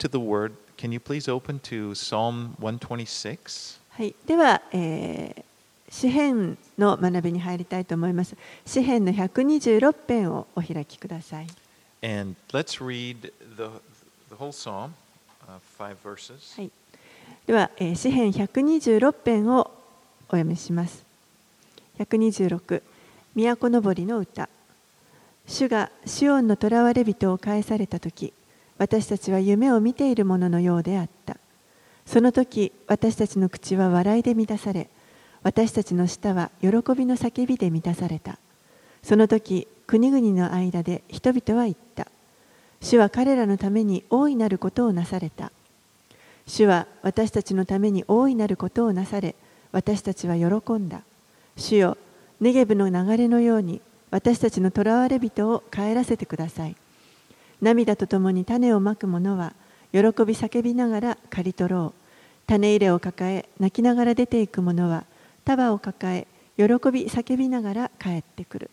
to the Word, can you please open to Psalm 126? はい、では、詩編の学びに入りたいと思います。詩編の126編をお開きください。 And let's read the whole psalm, 5 verses. はい、では、詩編126編をお読みします。126、都のぼりの歌。主がシオンの囚われ人を返されたとき、私たちは夢を見ているもののようであった。その時、私たちの口は笑いで満たされ、私たちの舌は喜びの叫びで満たされた。その時、国々の間で人々は言った。主は彼らのために大いなることをなされた。主は私たちのために大いなることをなされ、私たちは喜んだ。主よ、ネゲブの流れのように、私たちの囚われ人を帰らせてください。涙とともに種をまく者は、喜び叫びながら刈り取ろう。種入れを抱え、泣きながら出ていく者は、束を抱え、喜び叫びながら帰ってくる。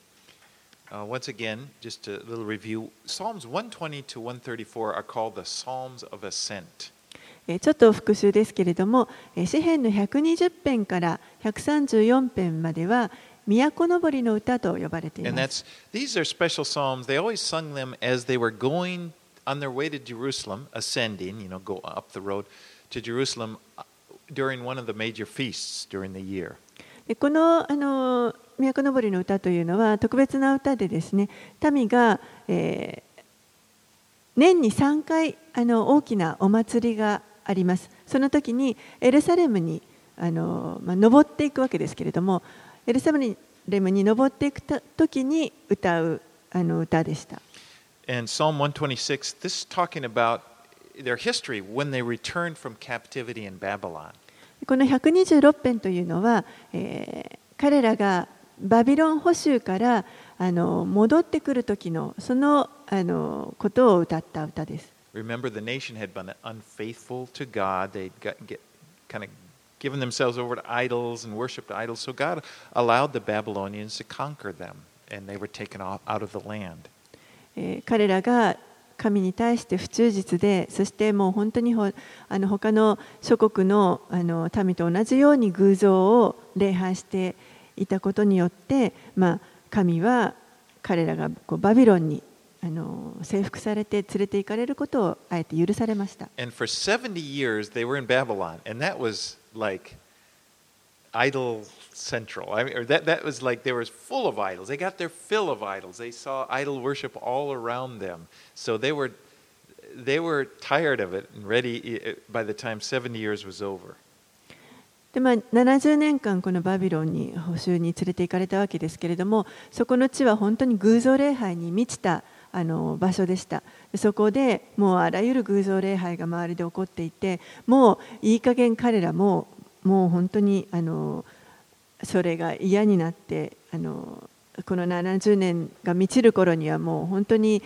Once again, just a little review. Psalms 120 to 134 are called the Psalms of Ascent. ちょっと復習ですけれども、詩編の120編から134編までは、都のぼりの歌と呼ばれています。 These are special psalms. They always sung them as they were going on their way to Jerusalem, ascending, go up the road to Jerusalem during one of the major feasts during the year. この都のぼりの歌というのは特別な歌でですね、民が、年に3回大きなお祭りがあります。その時にエルサレムに登っていくわけですけれども、エルサレムに登っていく時に歌う歌でした。 And Psalm 126, this is talking about their history when they returned from captivity in Babylon. この126編というのは、彼らがバビロン捕囚から戻ってくる時のそのことを歌った歌です。 Remember, the nation had been unfaithful to God. They'd kind of given themselves over to idols and worshipped idols. So God allowed the Babylonians to conquer them, and they were taken out of the land. 彼らが神に対して不忠実で、そしてもう本当に他の諸国の民と同じように偶像を礼拝していたことによって、神は彼らがバビロンに征服されて連れて行かれることをあえて許されました。 And for 70 years they were in Babylon, and that was like idol central. I mean, or that was like they were full of idols. They got their fill of idols. They saw idol worship all around them. So they were tired of it and ready by the time 70 years was over. で70年間このバビロンに捕囚に連れて行かれたわけですけれども、そこの地は本当に偶像礼拝に満ちた場所でした。そこでもうあらゆる偶像礼拝が周りで起こっていて、もういい加減彼らもう本当にそれが嫌になってこの70年が満ちる頃にはもう本当に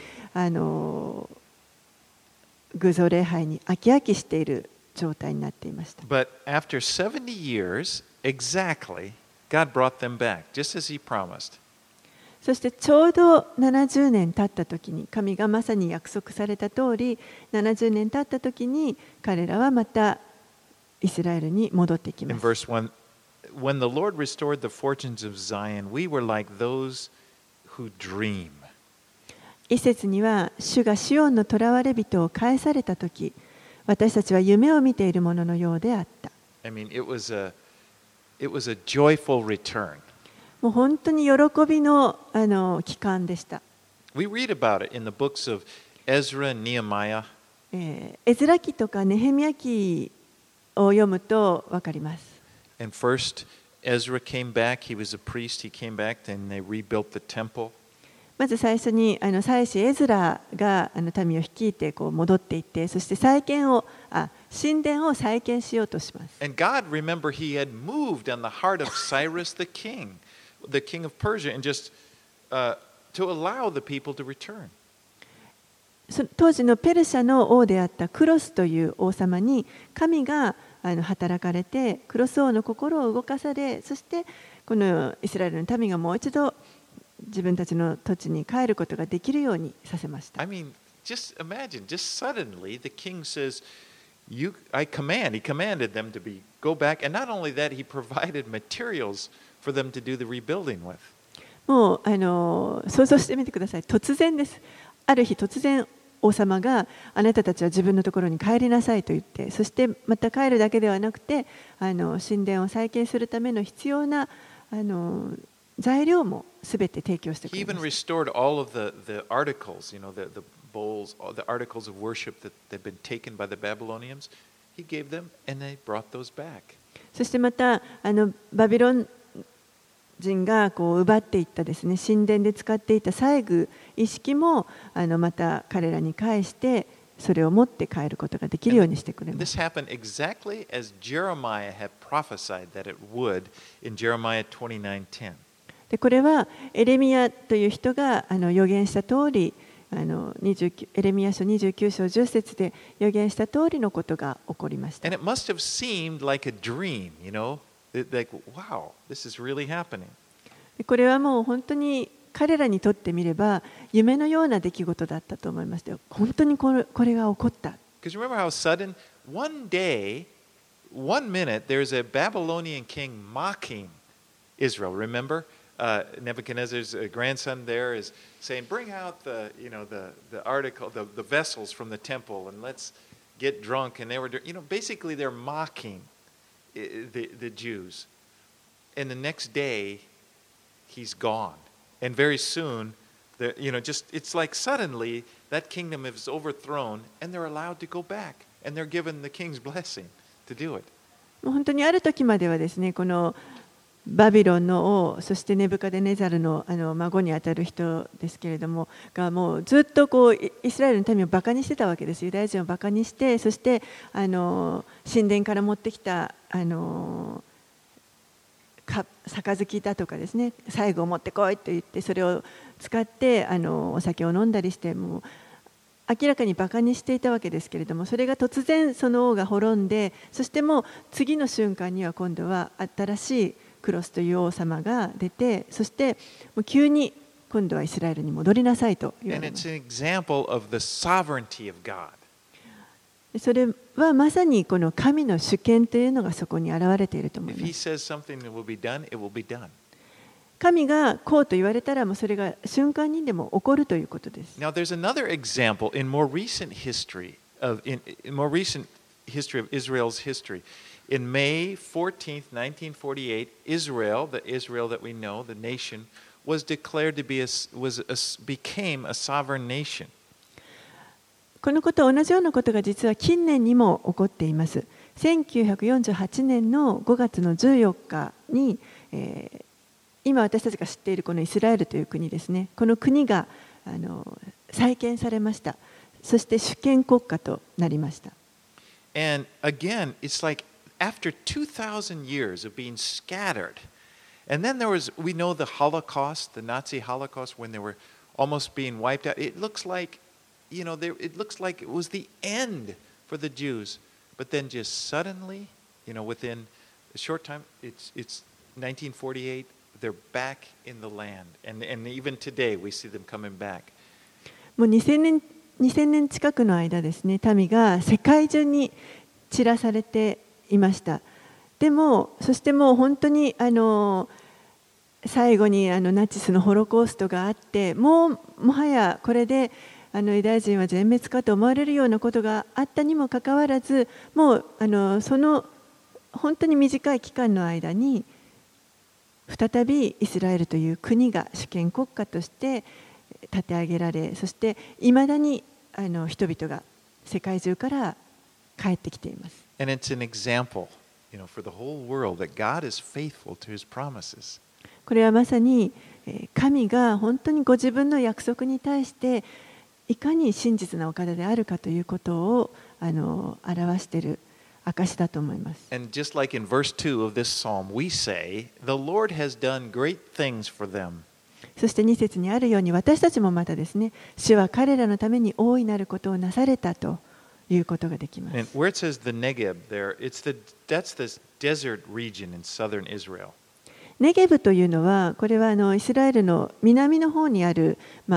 偶像礼拝に飽き飽きしている状態になっていました。 But after 70 years, exactly, God brought them back, just as He promised. そしてちょうど70年経った時に、神がまさに約束された通り、70年経った時に彼らはまたイスラエルに戻ってきます。 In verse 1, when the Lord restored the fortunes of Zion, we were like those who dream. 一節には、主がシオンの囚われ人を返された時、私たちは夢を見ているもののようであった。 I mean, it was a joyful return. もう本当に喜びの期間でした。 We read about it in the books of Ezra and Nehemiah. エズラ記とかネヘミヤ記を読むと分かります。 And first, Ezra came back. He was a priest. He came back, and they rebuilt the temple. まず最初に祭司エズラが民を率いて戻っていって、そして神殿を再建しようとします。 And God, remember, He had moved on the heart of Cyrus the king of Persia, and just to allow the people to return. 当時のペルシャの王であったクロスという王様に神が働かれて、クロス王の心を動かされ、そしてこのイスラエルの民がもう一度自分たちの土地に帰ることができるようにさせました。 I mean, just imagine, just suddenly the king says, he commanded them to go back, and not only that, he provided materials for them to do the rebuilding with. もう想像してみてください。突然です。ある日突然王様があなたたちは自分のところに帰りなさいと言って、そしてまた帰るだけではなくて神殿を再建するための必要な材料もすべて提供してく He れ even まし restored all of the articles, the bowls, all the articles of worship that had been taken by the Babylonians. He gave them, and they brought those back. た。そしてまたバビロン人がこう奪っていったですね、神殿で使っていた細具一式もまた彼らに返してそれを持って帰ることができるようにしてくれま This す。 happened exactly as Jeremiah had prophesied that it would in Jeremiah 29:10. でこれはエレミヤという人が預言した通りエレミヤ書29章10節で預言した通りのことが起こりました。 And it must have seemed like a dream, like, wow, this is really happening. これはもう本当に彼らにとってみれば夢のような出来事だったと思いましたよ。本当にこれが起こった。 Because remember how sudden, one day, 1 minute, there's a Babylonian king mocking Israel. Remember? Nebuchadnezzar's grandson there is saying, bring out the article, the vessels from the temple, and let's get drunk. And they were, basically they're mocking the Jews. And the next day, he's gone. And very soon, it's like suddenly that kingdom is overthrown, and they're allowed to go back, and they're given the king's blessing to do it. 本当にある時まではですね、このバビロンの王、そしてネブカデネザルの孫にあたる人ですけれども、がもうずっとこうイスラエルの民をバカにしてたわけです。ユダヤ人をバカにして、そして神殿から持ってきた杯だとかですね、最後を持ってこいと言ってそれを使ってお酒を飲んだりして、もう明らかにバカにしていたわけですけれども、それが突然その王が滅んで、そしてもう次の瞬間には今度は新しいクロスという王様が出て、そしてもう急に今度はイスラエルに戻りなさいと言われます。それはまさにこの神の主権というのがそこに現れていると思います。神がこうと言われたらもうそれが瞬間にでも起こるということです。 Now there's another example in more recent history of Israel's history. In May 14th, 1948, Israel, the Israel that we know, the nation, was declared to became a sovereign nation. このこと同じようなことが実は近年にも起こっています。1948年の5月の14日に、今私たちが知っているこのイスラエルという国ですね。この国が再建されました。そして主権国家となりました。 And again, it's like after 2,000 years of being scattered, and then we know the Holocaust, the Nazi Holocaust, when they were almost being wiped out. It looks like, it looks like it was the end for the Jews, but then just suddenly, within a short time, it's 1948. They're back in the land, and even today we see them coming back. もう2000年近くの間ですね、民が世界中に散らされていました。でも、そしてもう本当に最後にナチスのホロコーストがあって、もはやこれでユダヤ人は全滅かと思われるようなことがあったにもかかわらず、もうその本当に短い期間の間に再びイスラエルという国が主権国家として立て上げられ、そしていまだに人々が世界中から帰ってきています。 And it's an example, for the whole world that God is faithful to His promises. これはまさに神が本当にご自分の約束に対していかに真実なお方であるかということを表している証だと思います。 And just like in verse 2 of this psalm, we say, "The Lord has done great things for them." そして2節にあるように私たちもまたですね、主は彼らのために大いなることをなされたということができます。 And where it says the Negev there, that's the desert region in southern Israel. ネゲブというのはこれはイスラエルの南の方にある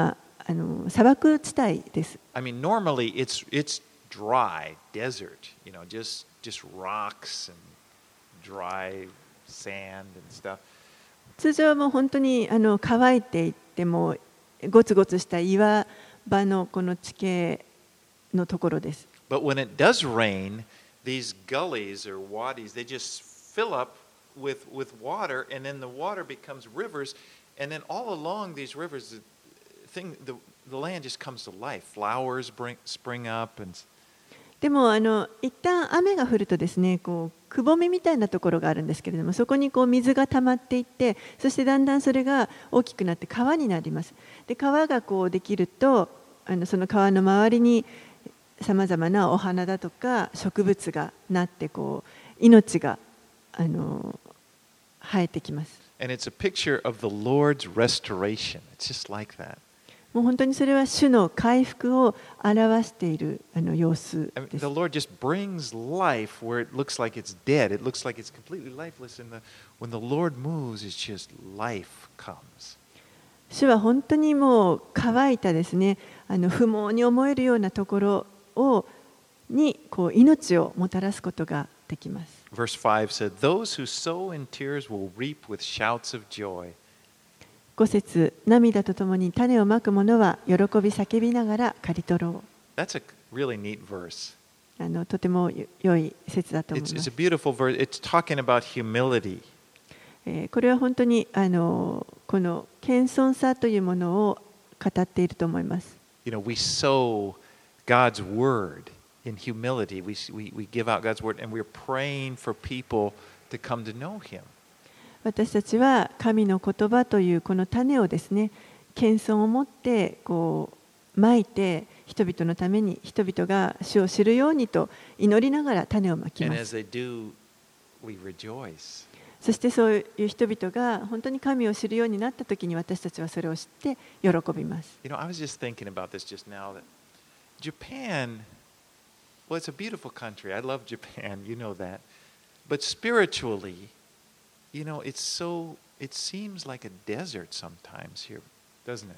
砂漠地帯です。 I mean, normally it's dry desert, just rocks and dry sand and stuff. 通常はもう本当に乾いていってもゴツゴツした岩場のこの地形のところです。 But when it does rain, these gullies or wadis, they just fill up with water, and then the water becomes rivers, and then all along these rivers, the land just comes to life. Flowers spring up, and でも一旦雨が降るとですね、くぼみみたいなところがあるんですけれども、そこに水が溜まっていって、そしてだんだんそれが大きくなって川になります。で、川ができると、その川の周りにさまざまなお花だとか植物がなって、命が生えてきます。 And it's a picture of the Lord's restoration. It's just like that. もう本当にそれは主の回復を表している様子 I mean, です。 the Lord just brings life where it looks like it's dead. It looks like it's completely lifeless. And when the Lord moves, it's just life comes. 主は本当にもう乾いたですね、不毛に思えるようなところに命をもたらすことができます。 Verse 5 said, Those who sow in tears will reap with shouts of joy. 5節、涙とともに種をまく者は喜び叫びながら刈り取ろう。 That's a really neat verse. とても良い説だと思い It's ま a す。 beautiful verse. It's talking about humility. これは本当にこの謙遜さというものを語っていると思います。 We sow God's word in humility. We give out God's word, and we're praying for people to come to know Him. 私たちは神の言葉というこの種をですね、謙遜を持ってまいて、人々のために人々が主を知るようにと祈りながら種をまき And ま as す。 they do, we rejoice. そしてそういう人々が本当に神を知るようになったときに、私たちはそれを知って喜びます。 I was just thinking about this just now that Japan, well, it's a beautiful country. I love Japan, you know that. But spiritually, it seems like a desert sometimes here, doesn't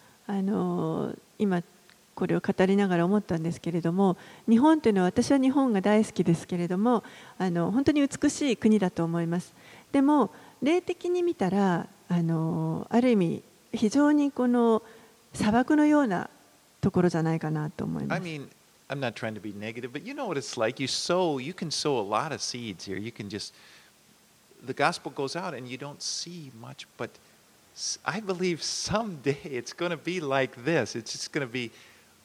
it? 今これを語りながら思ったんですけれども、日本というのは、私は日本が大好きですけれども、本当に美しい国だと思います。でも霊的に見たらある意味非常にこの砂漠のようなところじゃないかなと思いま I す。 mean, I'm not trying to be negative, but you know what it's like. You can sow a lot of seeds here. The gospel goes out and you don't see much, but I believe someday it's going to be like this. It's just going to be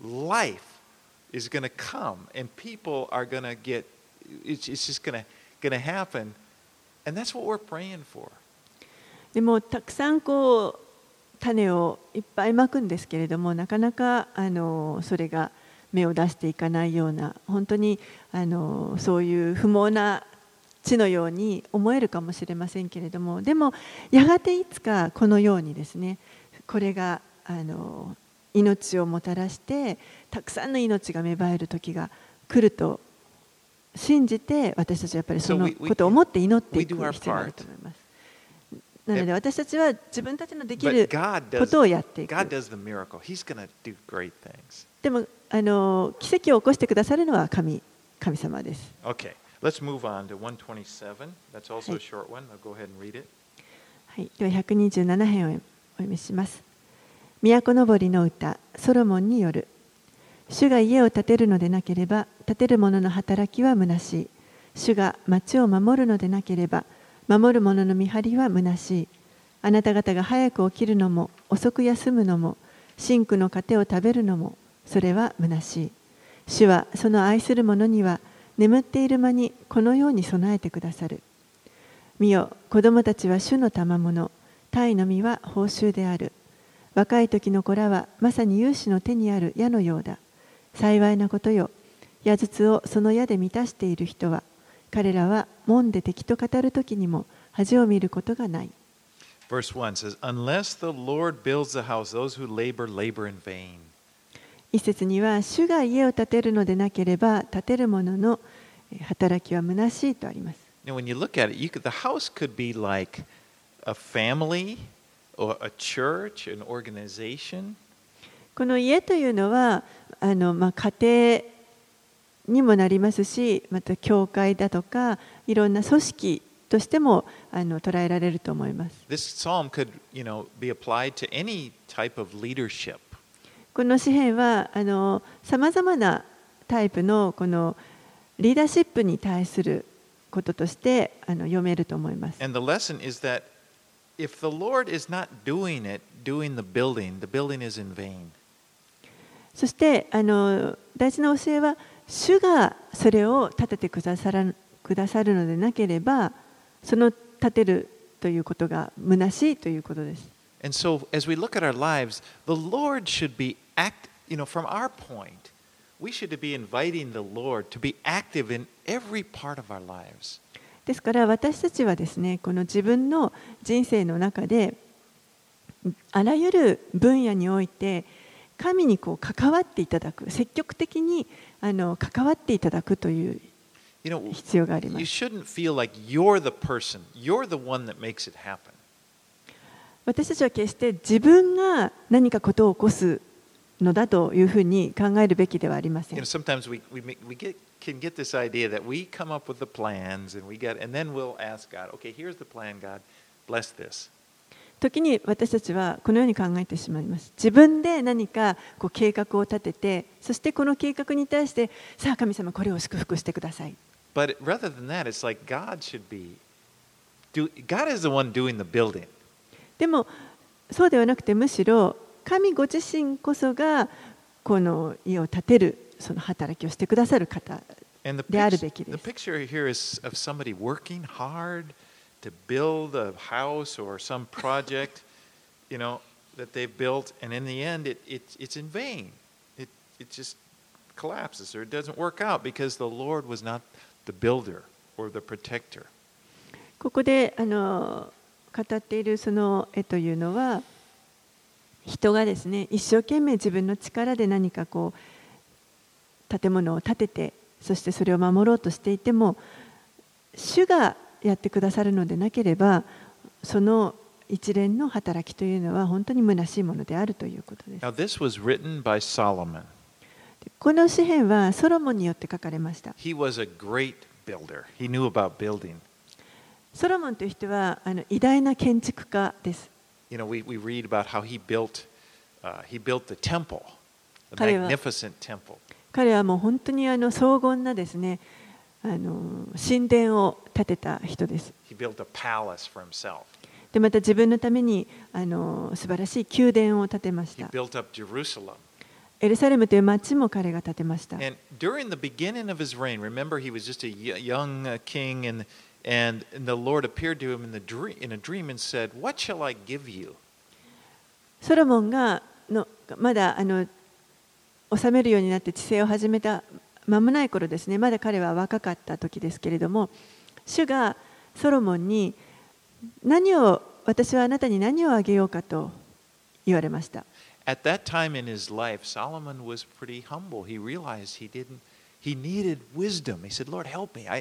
life is going to come and people are going to get, it's just going to happen. And that's what we're praying for. でもたくさん種をいっぱいまくんですけれども、なかなかそれが芽を出していかないような、本当にそういう不毛な地のように思えるかもしれませんけれども、でもやがていつかこのようにですね、これが命をもたらしてたくさんの命が芽生える時が来ると信じて、私たちはやっぱりそのことを思って祈っていく必要があると思います。なので私たちは自分たちのできることをやっていく。 God does the miracle. He's going to do great things. でも奇跡を起こしてくださるのは神様です。 Okay, let's move on to 127. That's also a short one. I'll go ahead and read it. はい、では127編をお読みします。都のぼりの歌、ソロモンによる。主が家を建てるのでなければ、建てる者の働きは虚しい。主が町を守るのでなければ、守る者の見張りは虚しい。あなた方が早く起きるのも、遅く休むのも、真紅の糧を食べるのも、それは虚しい。主はその愛する者には、眠っている間にこのように備えてくださる。見よ、子供たちは主の賜物、鯛の実は報酬である。若い時の子らはまさに勇士の手にある矢のようだ。幸いなことよ。矢筒をその矢で満たしている人は、彼らは門で敵と語る時にも恥を見ることがない。 Verse 1 says, Unless the Lord builds the house, those who labor, labor in vain. 一節には、主が家を建てるのでなければ、建てる者の働きは虚しいとあります。 Now, when you look at it, the house could be like a family or a church, an organization. この家というのは家庭にもなりますし、また教会だとかいろんな組織としても捉えられると思います。 This psalm could, be applied to any type of leadership. この詩篇はさまざまなタイプのこのリーダーシップに対することとして読めると思います。 And the lesson is that if the Lord is not doing the building is in vain. そして大事な教えは、主がそれを立ててくださるのでなければ、その立てるということが虚しいということです。 And so, as we look at our lives, the Lord should be from our point, we should be inviting the Lord to be active in every part of our lives. ですから私たちはですね、この自分の人生の中であらゆる分野において神に関わっていただく、積極的に関わっていただくという必要があります。 You shouldn't feel like you're the person, you're the one that makes it happen. 私たちは決して自分が何かことを起こすのだというふうに考えるべきではありません。 Sometimes we can get this idea that we come up with the plans and then we'll ask God, okay, here's the plan, God, bless this. 時に私たちはこのように考えてしまいます。自分で何か計画を立てて、そしてこの計画に対して、さあ神様これを祝福してください。 But rather than that, it's like God is the one doing the building. でもそうではなくて、むしろ神ご自身こそがこの家を建てるその働きをしてくださる方であるべきです。 The picture here is of somebody working hard to build a house or some project, that they've built, and in the end, it's in vain. It just collapses or it doesn't work out because the Lord was not the builder or the protector. ここで語っているその絵というのは、人がですね、一生懸命自分の力で何か建物を建てて、そしてそれを守ろうとしていても、主がやってくださるのでなければ、その一連の働きというのは本当に虚しいものであるということです。 Now, this was written by Solomon. この詩篇はソロモンによって書かれました。 He was a great builder. He knew about building. ソロモンという人は偉大な建築家です。 We read about how he built the temple, the magnificent temple. 彼はもう本当に荘厳なですね、神殿を建てた人です。 He built a palace for himself. でまた自分のために素晴らしい宮殿を建てまし He た。 built up Jerusalem. エルサレムという町も彼が建てました。 And during the beginning of his reign, remember he was just a young king, and the Lord appeared to him in a dream and said, "What shall I give you?" ソロモンがまだ治めるようになって治世を始めた間もない頃ですね、まだ彼は若かった時ですけれども、主がソロモンに私はあなたに何をあげようかと言われました。 At that time in his life, Solomon was pretty humble. He realized he needed wisdom. He said, "Lord, help me.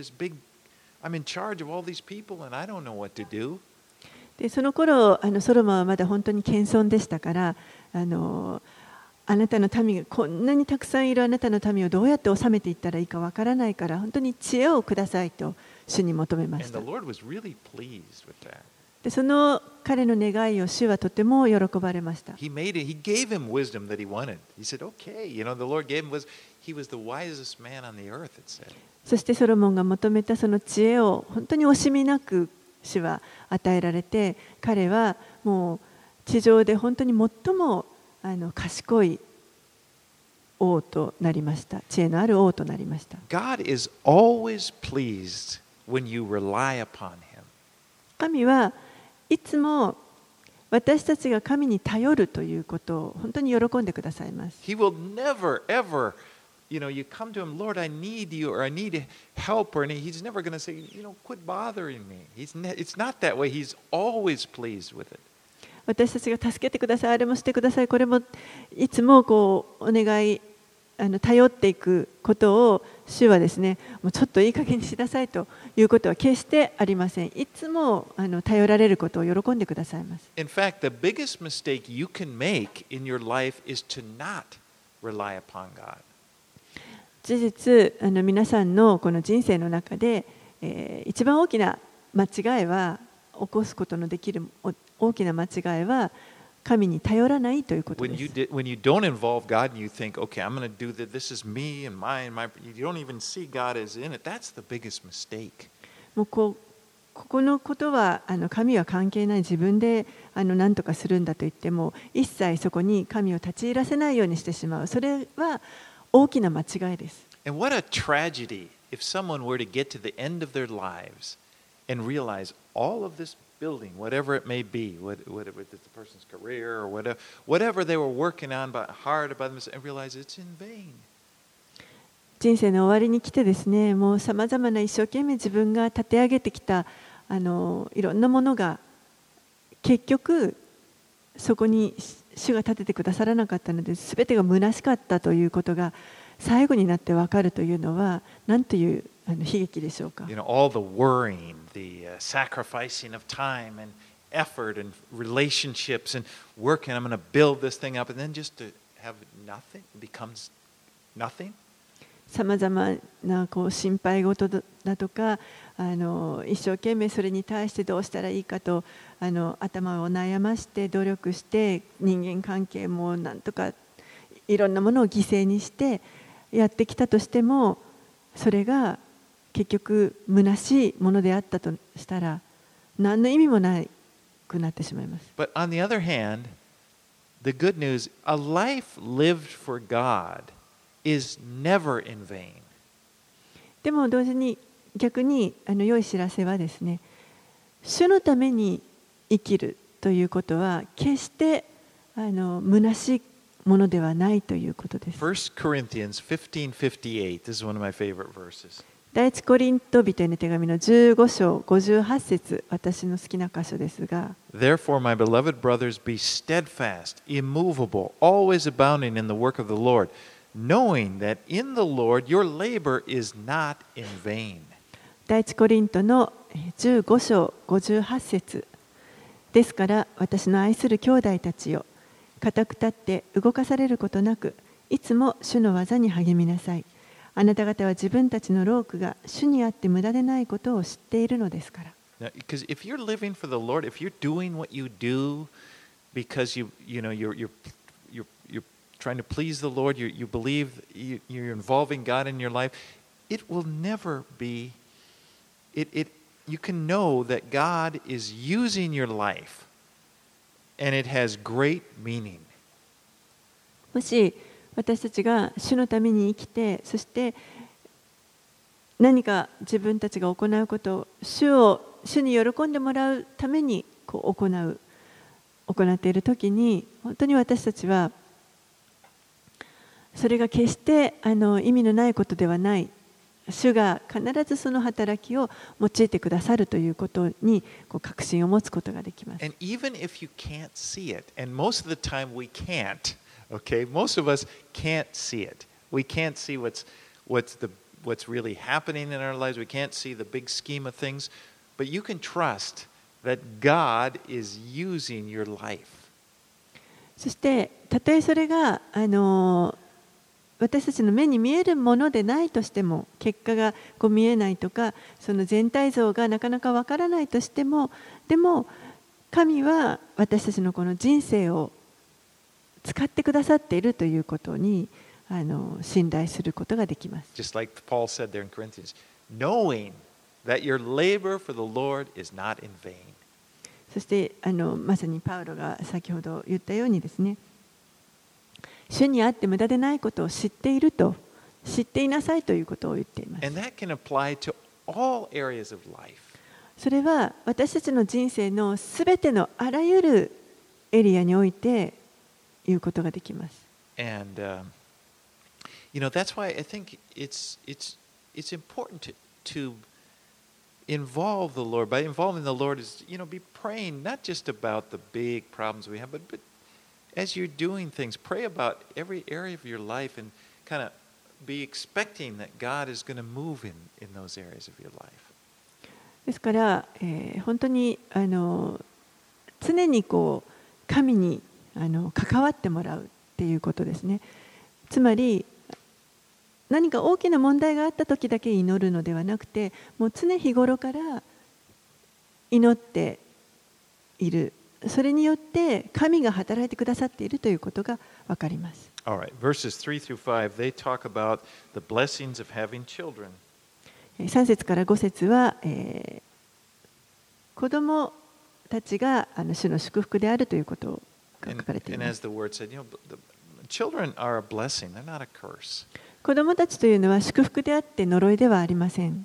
I'm in charge of all these people, and I don't know what to do." でその頃ソロモンはまだ本当に謙遜でしたから、あなたの民がこんなにたくさんいるあなたの民をどうやって治めていったらいいかわからないから、本当に知恵をくださいと主に求めました。 And the Lord was really pleased with that. でその彼の願いを主はとても喜ばれました。 He gave him wisdom that he wanted. He said, "Okay, the Lord gave him he was the wisest man on the earth," it said. そしてソロモンが求めたその知恵を本当に惜しみなく主は与えられて、彼はもう地上で本当に最も賢い王となりました。知恵のある王となりました。 God is always pleased when you rely upon him. 神はいつも私たちが神に頼るということを本当に喜んでくださいます。 He will never, ever, you come to him, "Lord, I need you," or "I need help," or he's never going to say, "Quit bothering me." It's not that way. He's always pleased with it. 私たちが助けてください、あれもしてください、これもいつもお願い頼っていくことを主はですね、もうちょっといい加減にしなさいということは決してありません。いつも頼られることを喜んでくださいます。 In fact, the biggest mistake you can make in your life is to not rely upon God. 事実、皆さんのこの人生の中で、一番大きな間違いは、起こすことのできる大きな間違いは、神に頼らないということです。 When you don't involve God and you think, okay, I'm going to do that, this is me and mine, you don't even see God as in it, that's the biggest mistake. もうここのことは神は関係ない、自分で何とかするんだと言っても、一切そこに神を立ち入らせないようにしてしまう。それは大きな間違いです。 And what a tragedy if someone were to get to the end of their lives and realize all of this building, whatever it may be, whatever it's the person's career or whatever they were working on hard about themselves, and realize it's in vain. 人生の終わりに来てですね、もうさまざまな一生懸命自分が立て上げてきたいろんなものが結局そこに主が立ててくださらなかったので、全てが虚しかったということが最後になって分かるというのは何という悲劇でしょうか。 All the worrying, the sacrificing of time and effort and relationships and working, I'm going to build this thing up, and then just to have nothing becomes nothing. さまざまな心配事だとか一生懸命それに対してどうしたらいいかと頭を悩まして努力して人間関係もなんとかいろんなものを犠牲にしてやってきたとしても、それが結局虚しいものであったとしたら何の意味もなくなってしまいます。 But on the other hand, the good news, a life lived for God is never in vain. でも同時に逆に良い知らせはですね、主のために生きるということは決して虚しいものではないということです。 1 Corinthians 15:58, this is one of my favorite verses. 第一コリント人への手紙の15章58節、私の好きな箇所ですが、 Therefore, my beloved brothers, be steadfast, immovable, always abounding in the work of the Lord, knowing that in the Lord your labor is not in vain. 第一コリントの15章58節ですから、私の愛する兄弟たちよ、固く立って動かされることなく、いつも主の技に励みなさい。あなた方は自分たちの労苦が主にあって無駄でないことを知っているのですから。 Now, because if you're living for the Lord, if you're doing what you do because you're trying to please the Lord, you believe you're involving God in your life, it will never be. You can know that God is using your life, and it has great meaning. もし私たちが主のために生きて、そして何か自分たちが行うことを主に喜んでもらうために行っているときに、本当に私たちはそれが決して意味のないことではない、主が必ずその働きを用いてくださるということに確信を持つことができます。 And even if you can't see it, and most of the time we can't, okay, most of us can't see it. We can't see what's really happening in our lives. We can't see the big scheme of things, but you can trust that God is using your life. そしてたとえそれが私たちの目に見えるものでないとしても、結果が見えないとか、その全体像がなかなかわからないとしても、でも神は私たちのこの人生を使ってくださっているということに信頼することができます。 Just like Paul said there in Corinthians, knowing that your labor for the Lord is not in vain. そしてまさにパウロが先ほど言ったようにですね、主にあって無駄でないことを知っていると、知っていなさいということを言っています。 And that can apply to all areas of life. それは私たちの人生のすべてのあらゆるエリアにおいて言うことができます。 And that's why I think it's important to involve the Lord. By involving the Lord is, be praying not just about the big problems we have, but as you're doing things, pray about every area of your life and kind of be expecting that God is going to move in those areas of your life. ですから、本当に常にこう神に関わってもらうっていうことですね。つまり何か大きな問題があった時だけ祈るのではなくて、もう常日頃から祈っている。それによって神が働いてくださっているということがわかります。 All right, verses 3 through 5, they talk about the blessings of having children. 3節から5節は、子供たちが主の祝福であるということが書かれてい And ま as す。 the word said, the children are a blessing, they're not a curse. 子供たちというのは祝福であって呪いではありません。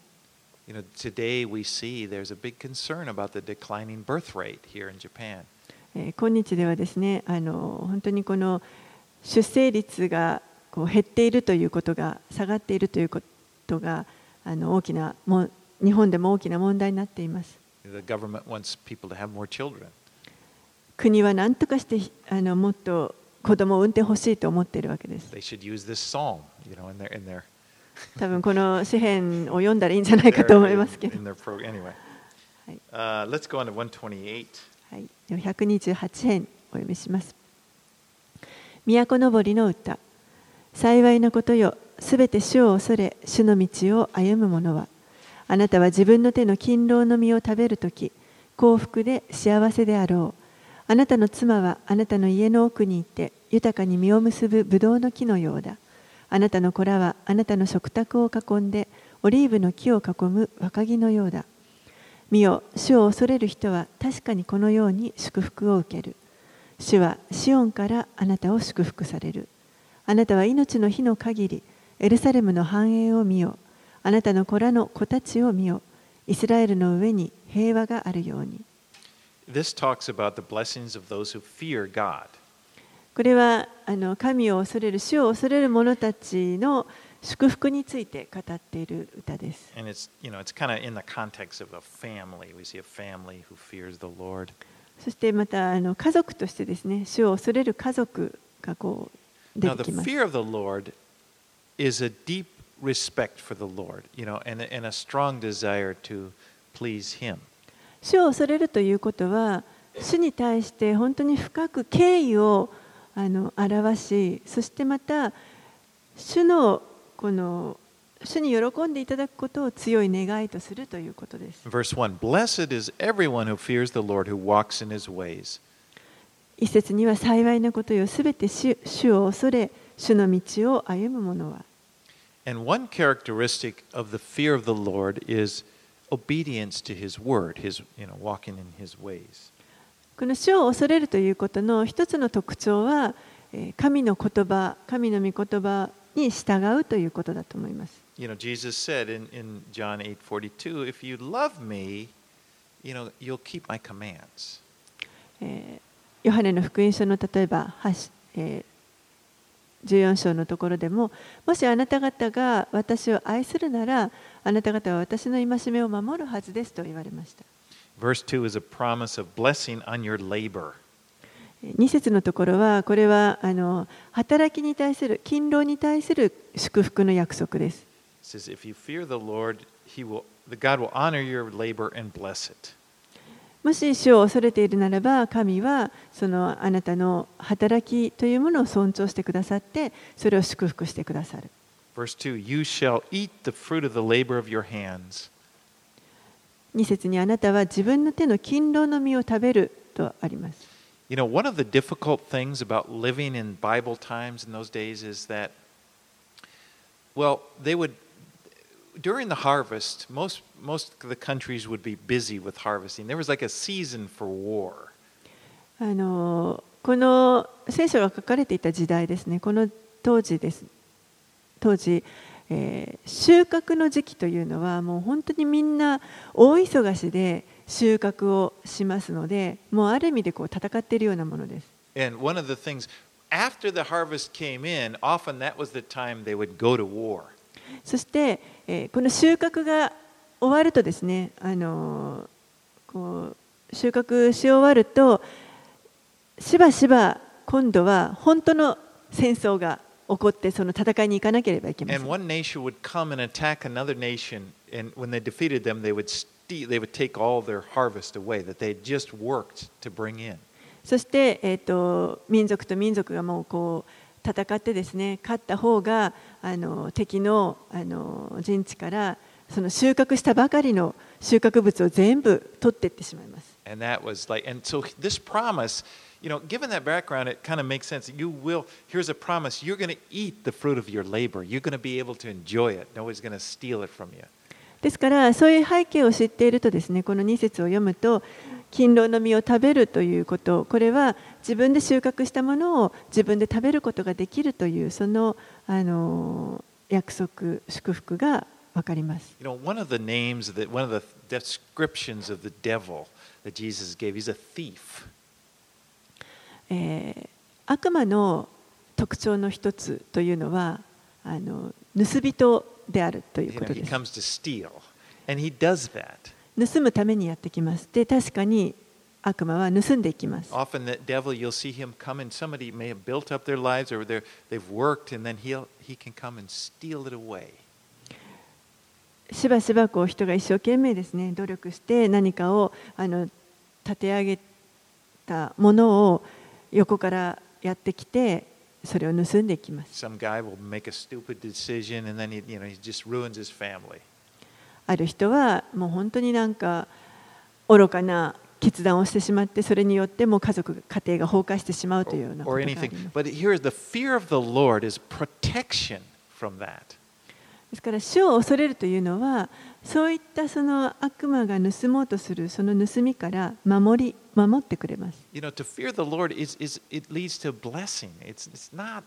Today we see there's a big concern about the declining birth rate here in Japan. 今日ではですね、本当にこの出生率がこう減っているということが、下がっているということが大きな日本でも大きな問題になっています。 The government wants people to have more children. 国は何とかしてもっと子供を産んでほしいと思っているわけです。 They should use this psalm, in their 多分この詩篇を読んだらいいんじゃないかと思いますけど。 in their program. Anyway, はい。 let's go on to 128. はい、128編お読みします。都のぼりの歌。幸いなことよ、すべて主を恐れ、主の道を歩む者は。あなたは自分の手の勤労の実を食べるとき、幸福で幸せであろう。あなたの妻はあなたの家の奥にいて、豊かに実を結ぶブドウの木のようだ。あなたの子らはあなたの食卓を囲んで、オリーブの木を囲む若木のようだ。見よ、主を恐れる人は確かにこのように祝福を受ける。主はシオンからあなたを祝福される。あなたは命の日の限り、エルサレムの繁栄を見よ。あなたの子らの子たちを見よ。イスラエルの上に平和があるように。 This talks about the blessings of those who fear God. これは神を恐れる、主を恐れる者たちの祝福について語っている歌です。 And it's kind of in the context of a family. We see a family who fears the Lord. そしてまた家族としてですね、主を恐れる家族がこう出 Now, て the きます。 fear of the Lord is a deep respect for the Lord, and a strong desire to please Him. 主を恐れるということは、主に対して本当に深く敬意を表し、そしてまた主に喜んでいただくことを強い願いとするということです。 Verse 1 Blessed is everyone who fears the Lord, who walks in His ways. 一節には幸いなことよ、すべて主を恐れ、主の道を歩む者は。 And one characteristic of the fear of the Lord is obedience to His word, walking in His ways. この主を恐れるということの一つの特徴は、神の言葉、神の御言葉に従うということだと思います。 Jesus said in John 8:42, If you love me, you'll keep my commands. ヨハネの福音書の例えば14章のところでも、もしあなた方が私を愛するなら、あなた方は私の戒めを守るはずですと言われました。 Verse 2 is a promise of blessing on your labor. 2節のところは、これは働きに対する、勤労に対する祝福の約束です。 It says, If you fear the Lord, God will honor your labor and bless it. もし主を恐れているならば、神はあなたの働きというものを尊重してくださって、それを祝福してくださる。 Verse 2 You shall eat the fruit of the labor of your hands. 2節にあなたは自分の手の勤労の実を食べるとあります。 One of the difficult things about living in Bible times in those days is that, during the harvest, most of the countries would be busy with harvesting. There was like a season for war. この聖書が書かれていた時代ですね、この当時、収穫の時期というのはもう本当にみんな大忙しで収穫をしますので、もうある意味で戦っているようなものです。 And one of the things, after the harvest came in, often that was the time they would go to war. そして、この収穫が終わるとですね、収穫し終わると、しばしば今度は本当の戦争が起こってその戦いに行かなければいけませ And ん。 one nation would come and attack another nation, and when they defeated them, they would take all their harvest away that they had just worked to bring in. そして、民族と民族がもうこう戦ってですね、勝った方が敵の、陣地からその収穫したばかりの収穫物を全部取っていってしまいます。 And that was like, and so this promise, given that background, it kind of makes sense. Here's a promise, you're going to eat the fruit of your labor. You're going to be able to enjoy it. Nobody's going to steal it from you. ですからそういう背景を知っているとですね、この2節を読むと、勤労の実を食べるということ、これは自分で収穫したものを自分で食べることができるというその、約束、祝福が分かります。 One of the descriptions of the devil that Jesus gave, he's a thief. 悪魔の特徴の一つというのは盗人であるということです。 He comes to steal, and he does that. 盗むためにやってきます。で、確かに悪魔は盗んでいきます。 Often the devil, you'll see him come and somebody may have built up their lives or they've worked and then he can come and steal it away. しばしばこう人が一生懸命ですね、努力して何かを立て上げたものを横からやってきて、それを盗んでいきます。 Some guy will make a stupid decision and then he just ruins his family. ある人はもう本当になんか愚かな決断をしてしまって、それによってもう家庭が崩壊してしまうというようなことがあります。 But here, the fear of the Lord is protection from that. ですから主を恐れるというのは、そういったその悪魔が盗もうとするその盗みから守ってくれます。 To fear the Lord it leads to blessing. It's not.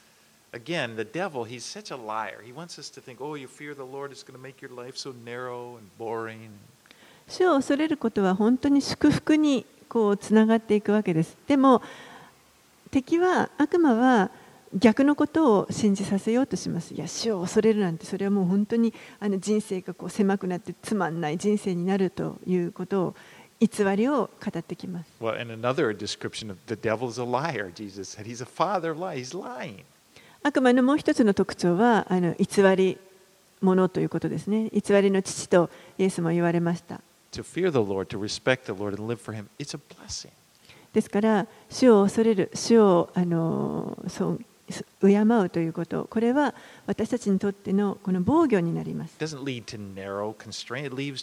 Again, the devil, he's such a liar. He wants us to think, oh, you fear the Lord, it's going to make your life so narrow and boring. 主を恐れることは本当に祝福にこうつながっていくわけです。でも敵は、悪魔は逆のことを信じさせようとします。いや、主を恐れるなんて、それはもう本当に人生がこう狭くなってつまんない人生になるということを、偽りを語ってきます。 Well, and another description of the devil is a liar. Jesus said he's a father lie. He's lying. 悪魔のもう一つの特徴は偽り者ということですね。偽りの父とイエスも言われました。 To fear the Lord, to respect the Lord and live for him, it's a blessing. ですから主を恐れる、主を敬うということ、これは私たちにとってのこの防御になります。 It doesn't lead to narrow constraint. It leads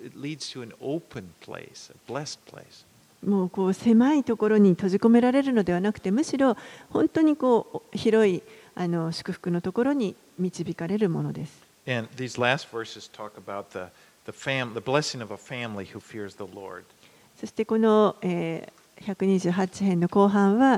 to an open place, a blessed place. もうこう狭いところに閉じ込められるのではなくて、むしろ本当にこう広い祝福のところに導かれるものです。 And these last verses talk about the blessing of a family who fears the Lord. そしてこの、128編の後半は、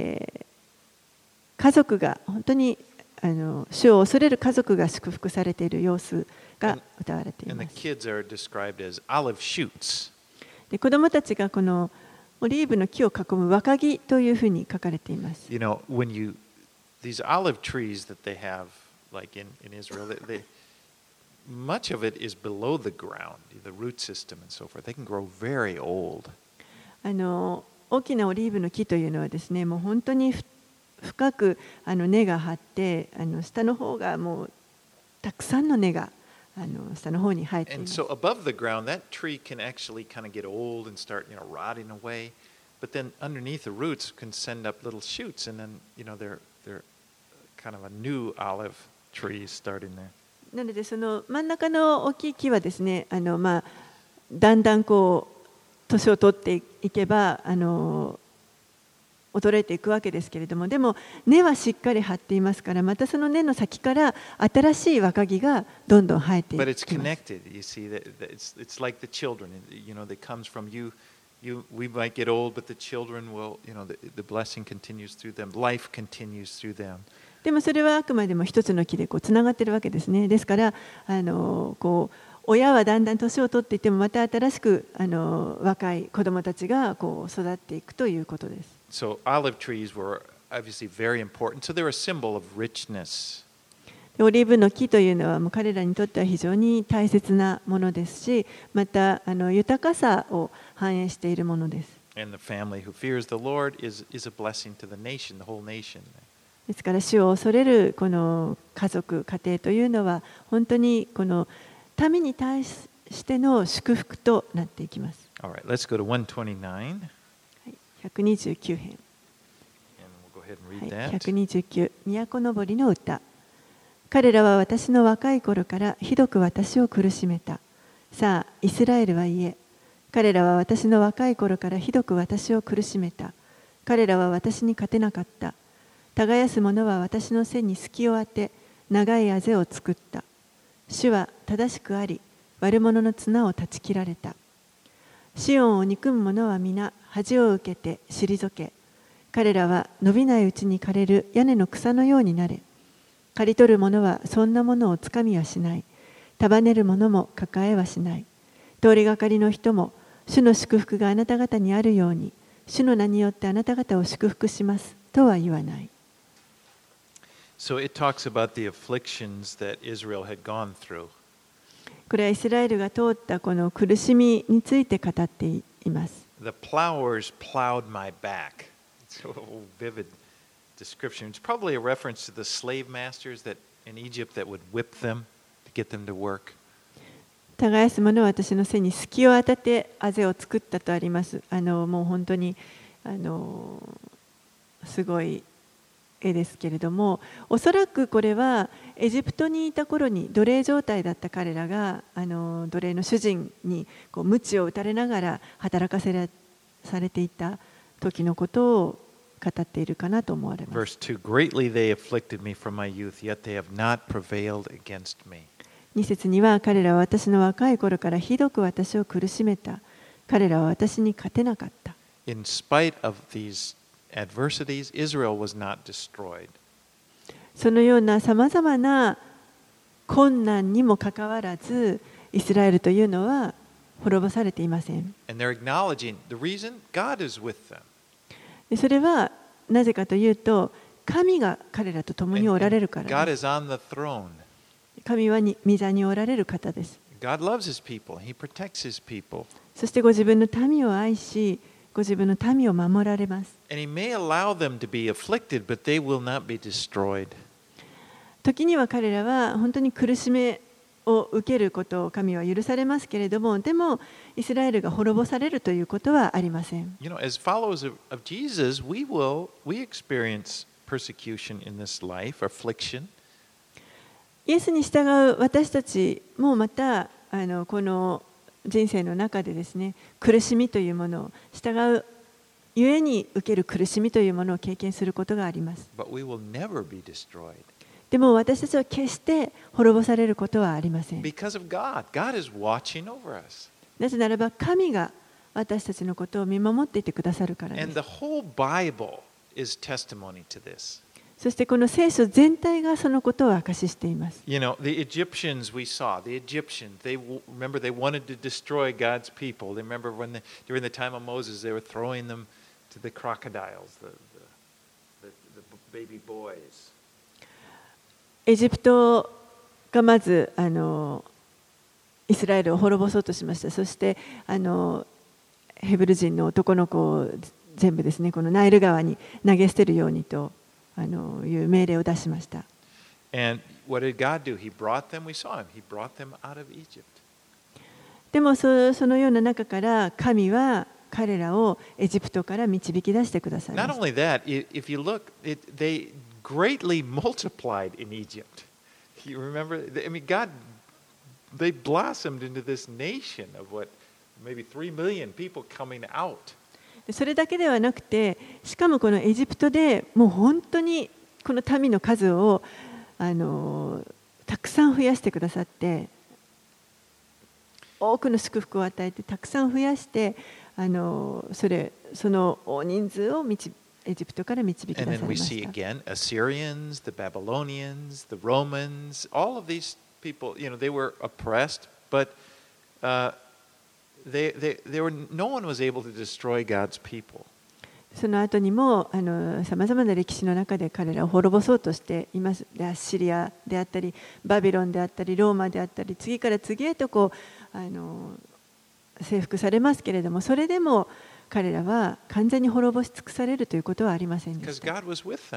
家族が本当に主を恐れる家族が祝福されている様子が歌われています。 And the kids are described as olive shoots. で、子供たちがこのオリーブの木を囲む若木というふうに書かれています。 These olive trees that they have, like in Israel, much of it is below the ground, the root system and so forth. They can grow very old. 大きなオリーブの木というのはですね、もう本当に深く根が張って、下の方がもうたくさんの根が下の方に生えています。 And so above the ground, that tree can actually kind of get old and start, rotting away. But then underneath the roots can send up little shoots, and then, they're kind of a new olive tree starting there. なのでその真ん中の大きい木はですね、だんだんこう年を取っていけば衰えていくわけですけれども、でも根はしっかり張っていますから、またその根の先から新しい若木がどんどん生えていきます。 But it's connected. You see, it's like the children. That comes from you. We might get old, but the children will. The blessing continues through them. Life continues through them. でもそれはあくまでも一つの木でこうつながっているわけですね。ですからこう親はだんだん年を取っていても、また新しく若い子どもたちがこう育っていくということです。 So olive trees were obviously very important. So they're a symbol of richness. オリーブの木というのはもう彼らにとっては非常に大切なものですし、また豊かさを反映しているものです。 And the family who fears the Lord is a blessing to the nation, the whole nation. ですから主を恐れるこの家族家庭というのは本当にこの民に対しての祝福となっていきます。 All right, let's go to 129. はい、129編。 And we'll go ahead and は read い、 that. 129、都のぼりの歌。彼らは私の若い頃からひどく私を苦しめた。さあ、イスラエルは言え。彼らは私の若い頃からひどく私を苦しめた。彼らは私に勝てなかった。耕す者は私の背に隙を当て、長いあぜを作った。主は正しくあり、悪者の綱を断ち切られた。シオンを憎む者は皆恥を受けて退け。彼らは伸びないうちに枯れる屋根の草のようになれ。刈り取る者はそんなものをつかみはしない。束ねる者も抱えはしない。通りがかりの人も、主の祝福があなた方にあるように、主の名によってあなた方を祝福しますとは言わない。 So it talks about the afflictions that Israel had gone through. これはイスラエルが通ったこの苦しみについて語っています。 The plowers plowed my back. It's a vivid description. It's probably a reference to the slave masters that in Egypt that would whip them to get them to work. 耕す者は私の背に隙を当ててあぜを作ったとあります。もう本当にすごい絵ですけれども、おそらくこれはエジプトにいた頃に奴隷状態だった彼らが奴隷の主人にこう鞭を打たれながら働かせされていた時のことを語っているかなと思われます。 Verse 2 Greatly they afflicted me from my youth, yet they have not prevailed against me. 2節には彼らは私の若い頃からひどく私を苦しめた。彼らは私に勝てなかった。 In spite of these adversities, Israel was not destroyed. そのようなさまざまな困難にもかかわらず、イスラエルというのは滅ぼされていません。 And they're acknowledging the reason God is with them. それはなぜかというと、神が彼らと共におられるから God です。 is on the throne. 神は御座におられる方です。 God loves his people. He protects his people. そしてご自分の民を愛し、ご自分の民を守られます。 And he may allow them to be afflicted, but they will not be destroyed. 時には彼らは本当に苦しめを受けることを神は許されますけれども、でもイスラエルが滅ぼされるということはありません。 You know, as followers of Jesus, we experience persecution in this life, affliction. イエスに従う私たちもまたこの人生の中でですね、苦しみというものを従うゆえに受ける苦しみというものを経験することがあります。 But we will never be destroyed. でも私たちは決して滅ぼされることはありません。 Because of God. God is watching over us. なぜならば神が私たちのことを見守っていてくださるからで And す。 the whole Bible is testimony to this. そしてこの聖書全体がそのことを証ししています。 You know, the Egyptians we saw, the Egyptians, remember they wanted to destroy God's people. They remember during the time of Moses, they were throwing them to the crocodiles, the baby boys. エジプトがまずイスラエルを滅ぼそうとしました。そしてヘブル人の男の子を全部ですね、このナイル川に投げ捨てるようにという命令を出しました。 And what did God do? He brought them, we saw him, he brought them out of Egypt. でもそのような中から神は彼らをエジプトから導き出してくださいま Not した。 only that, if you look, they greatly multiplied in Egypt. You remember? I mean, they blossomed into this nation of maybe 3 million people coming out. それだけではなくて、しかもこのエジプトでもう本当にこの民の数をたくさん増やしてくださって、多くの祝福を与えてたくさん増やしてその大人数をエジプトから導き出さ And れ then ま we し see た。 again Assyrians, the Babylonians, the Romans, all of these people, you know, they were oppressed, but no one was able to destroy God's people. その後にもさまざまな歴史の中で彼らを滅ぼそうとしています。アッシリアであったり、バビロンであったり、ローマであったり、次から次へと征服されますけれども、それでも彼らは完全に滅ぼし尽くされるということはありませんで Because した。 God was with them.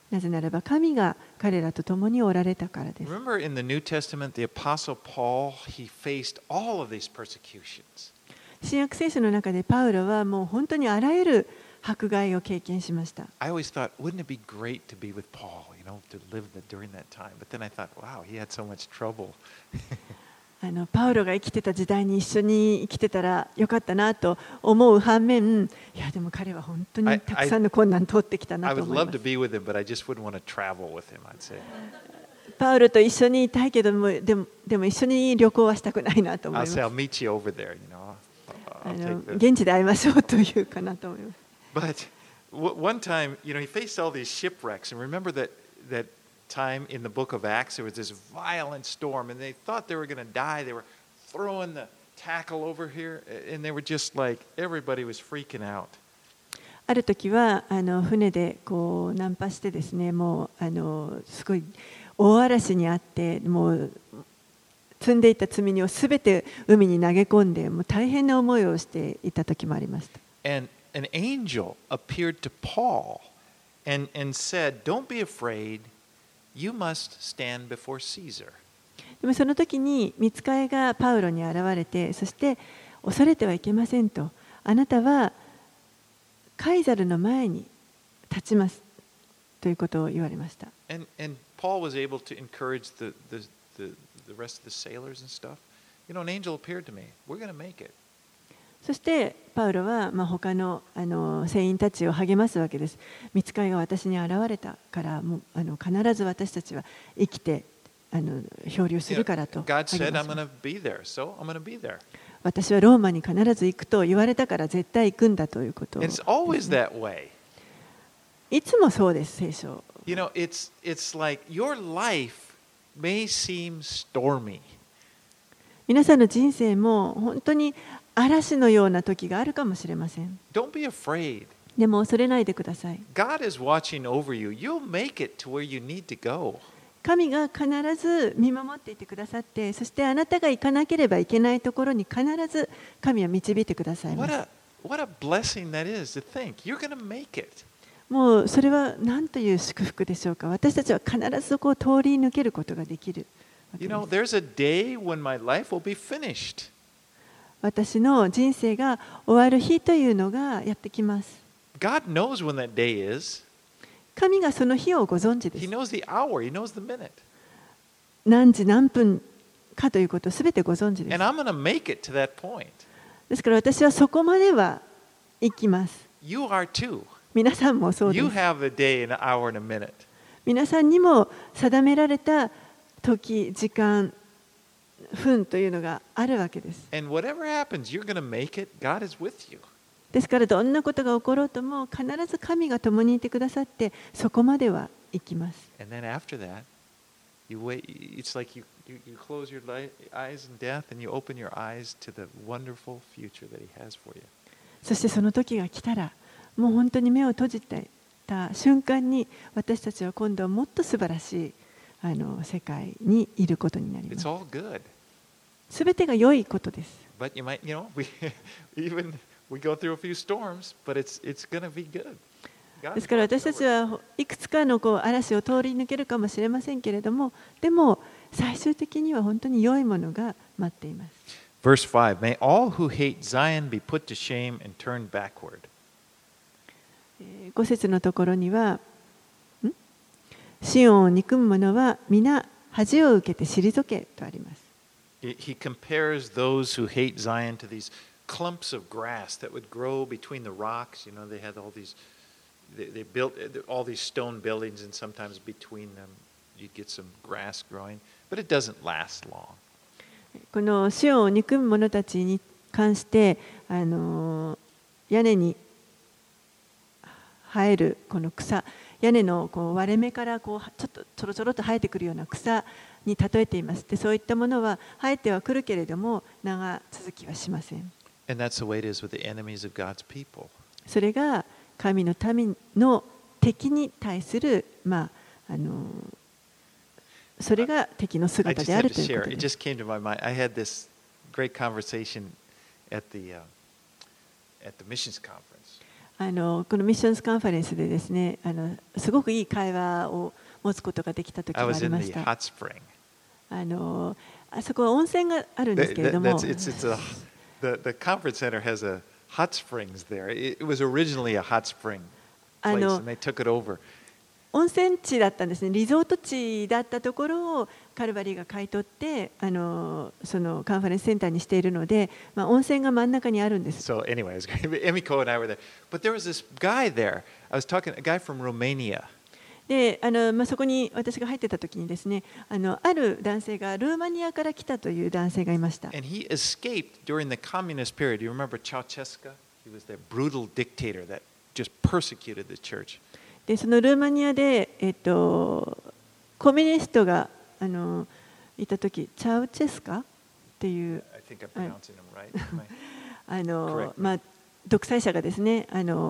なぜならば神が彼らと共におられたからです。 Remember in the New Testament, the Apostle Paul, he faced all of these persecutions. 新約聖書の中でパウロはもう本当にあらゆる迫害を経験しました。 I always thought, wouldn't it be great to be with Paul, to live during that time? But then I thought, wow, he had so much trouble. パウロが生きてた時代に一緒に生きてたらよかったなと思う反面、いやでも彼は本当にたくさんの困難を通ってきたな I と would 思いま love す。 to be with him, but I just wouldn't want to travel with him, I'd say. パウロと一緒にいたいけども、でも一緒に旅行はしたくないなと思い I'll ます。 say, I'll meet you over there, I'll take the... 現地で会いましょうというかなと思います。 But one time, he faced all these shipwrecks. And remember that time in the book of Acts, there was this violent storm, and they thought they were going to die. They were throwing the tackle over here, and they were just like, everybody was freaking out. ある時は船でこう難破してですね、もうすごい大嵐にあって、もう積んでいた積み荷をすべて海に投げ込んで、もう大変な思いをしていた時もありました。 And an angel appeared to Paul and said, "Don't be afraid. You must stand before Caesar." でもその時に御使いがパウロに現れて、そして恐れてはいけませんと、あなたはカイザルの前に立ちますということを言われました。 And Paul was able to encourage the rest of the sailors and stuff. An angel appeared to me. We're going to make it. そしてパウロは他の船員たちを励ますわけです。御使いが私に現れたからもう必ず私たちは生きて漂流するからと God 励 said, ま "I'm し going ま to be there, so I'm going to be there." 私はローマに必ず行くと言われたから絶対行くんだということを It's always that way. いつもそうです、聖書。 It's like your life may seem stormy. 皆さんの人生も本当に嵐のような時があるかもしれません。 Don't be afraid. でも恐れないでください。 God is watching over you. You'll make it to where you need to go. 神が必ず見守っていてくださって、そしてあなたが行かなければいけないところに必ず神は導いてくださいます。 What a blessing that is to think you're going to make it. もうそれは何という祝福でしょうか。私たちは必ずそこを通り抜けることができるわけです。 There's a day when my life will be finished. 私の人生が終わる日というのがやってきます。 God knows when that day is. 神がその日をご存知で He す。 knows the hour. He knows the minute. 何時何分かということをすべてご存知です。 And I'm going to make it to that point. ですから私はそこまでは行きます。 You are too. 皆さんもそうで You す。 have a day, an hour, and a minute. 皆さんにも定められた時、時間、分というのがあるわけです。 And whatever happens, you're going to make it. God is with you. ですからどんなことが起ころうとも必ず神が共にいてくださってそこまでは行きます。 And then after that, you wait. It's like you close your eyes in death and you open your eyes to the wonderful future that He has for you. そしてその時が来たらもう本当に目を閉じてた瞬間に私たちは今度はもっと素晴らしい世界にいることになりま It's す。 all good. すべてが良いことです。 But you might, we go through a few storms, but it's going to be good. ですから私たちはいくつかの嵐を通り抜けるかもしれませんけれども、でも最終的には本当に良いものが待っています。 Verse 5, May all who hate Zion be put to shame and turn backward. 5節のところには、シオンを憎む者は皆恥を受けて退けとあります。 He compares those who hate Zion to these clumps of grass that would grow between the rocks. They had all these, they built all these stone buildings, and sometimes between them you'd get some grass growing, but it doesn't last long. このシオンを憎む者たちに関して屋根に生えるこの草、屋根の割れ目からちょっとちょろちょろと生えてくるような草に例えています。で、そういったものは生えてはくるけれども長続きはしません。 And that's the way it is with the enemies of God's people. それが神の民の敵に対するそれが敵の姿であるということ It です。 just came to my mind. I had this great conversation at the missions conference. このミッションズカンファレンスでですね、すごくいい会話を持つことができた時 I があ was り in ま the した。 hot spring. あそこは温泉があるんですけれども、 The conference center has a hot springs there. It was originally a hot spring place, and they took it over. 温泉地だったんですね。リゾート地だったところをカルバリーが買い取って、そのカンファレンスセンターにしているので、温泉が真ん中にあるんです。 So anyway, it was great. Emiko and I were there. But there was this guy there. I was talking, a guy from Romania. でそこに私が入ってた時にですね、ある男性がルーマニアから来たという男性がいました。 And he escaped during the communist period. You remember Ceausescu? He was that brutal dictator that just persecuted the church. でそのルーマニアで、コミュニストがいた時、チャウチェスカっていう I think I'm pronouncing him right. 独裁者がですね、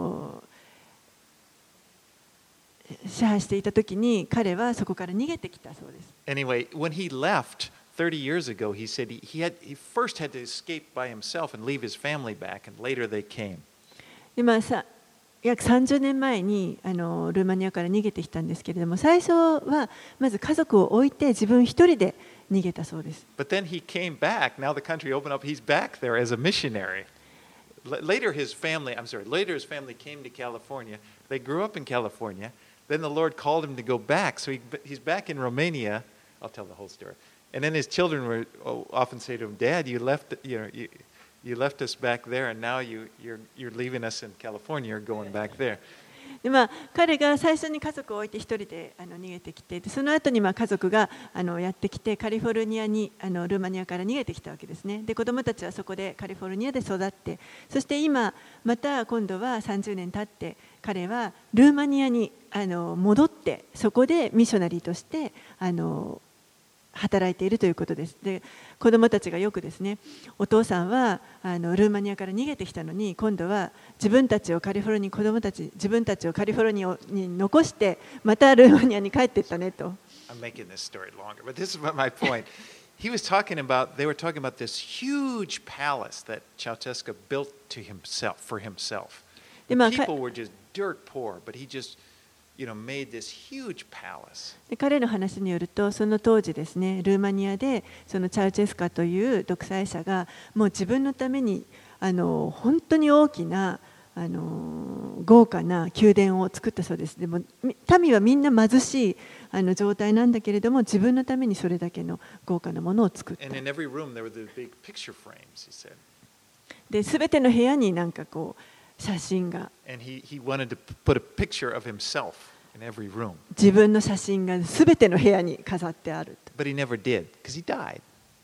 支配していた時に彼はそこから逃げてきたそうです。 Anyway, when he left 30 years ago, he said he first had to escape by himself and leave his family back, and later they came. で約30年前にルーマニアから逃げてきたんですけれども、最初はまず家族を置いて自分一人で逃げたそうです。 But then he came back. Now the country opened up. He's back there as a missionary. Later his family came to California. They grew up in California. Then the Lord called him to go back. So he's back in Romania. I'll tell the whole story. And then his children would often say to him, "Dad, you left us back there, and now you're leaving us in California. You're going back there." で彼が最初に家族を置いて一人で逃げてきて、その後に家族がやってきてカリフォルニアにルーマニアから逃げてきたわけですね。で子どもたちはそこでカリフォルニアで育って、そして今また今度は30年経って彼はルーマニアに戻って、そこでミッショナリーとして働いているということです。で子どもたちがよくですね、お父さんはルーマニアから逃げてきたのに、今度は自分たちをカリフォルニア自分たちをカリフォルニアに残してまたルーマニアに帰っていったねと。 I'm making this story longer, but this is my point. They were talking about this huge palace that Ceausescu built for himself. The people were just dirt poor, but he just made this huge palace. で彼の話によると、その当時ですね、ルーマニアでそのチャウチェスカという独裁者がもう自分のために本当に大きな豪華な宮殿を作ったそうです。でも民はみんな貧しい状態なんだけれども、自分のためにそれだけの豪華なものを作った。 And in every room there were the big picture frames, he said. で、すべての部屋になんかこう写真が。 And he wanted to put a picture of himself in every room. 自分の写真がすべての部屋に飾ってある。 But he never did, because he died.